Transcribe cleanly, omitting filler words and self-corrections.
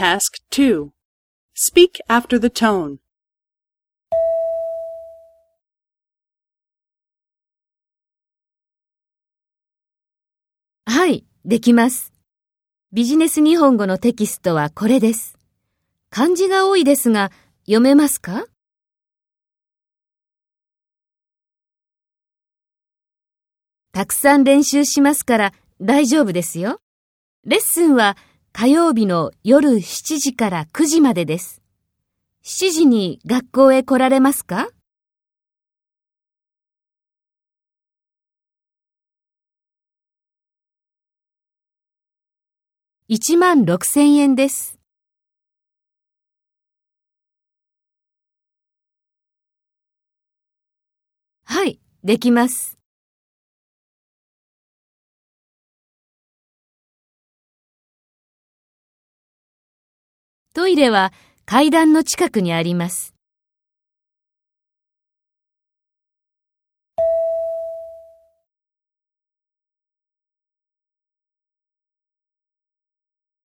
Task 2. Speak after the tone. はい、できます。ビジネス日本語のテキストはこれです。漢字が多いですが、読めますか？たくさん練習しますから大丈夫ですよ。レッスンは火曜日の夜7時から9時までです。7時に学校へ来られますか？16,000円です。はい、できます。トイレは階段の近くにあります。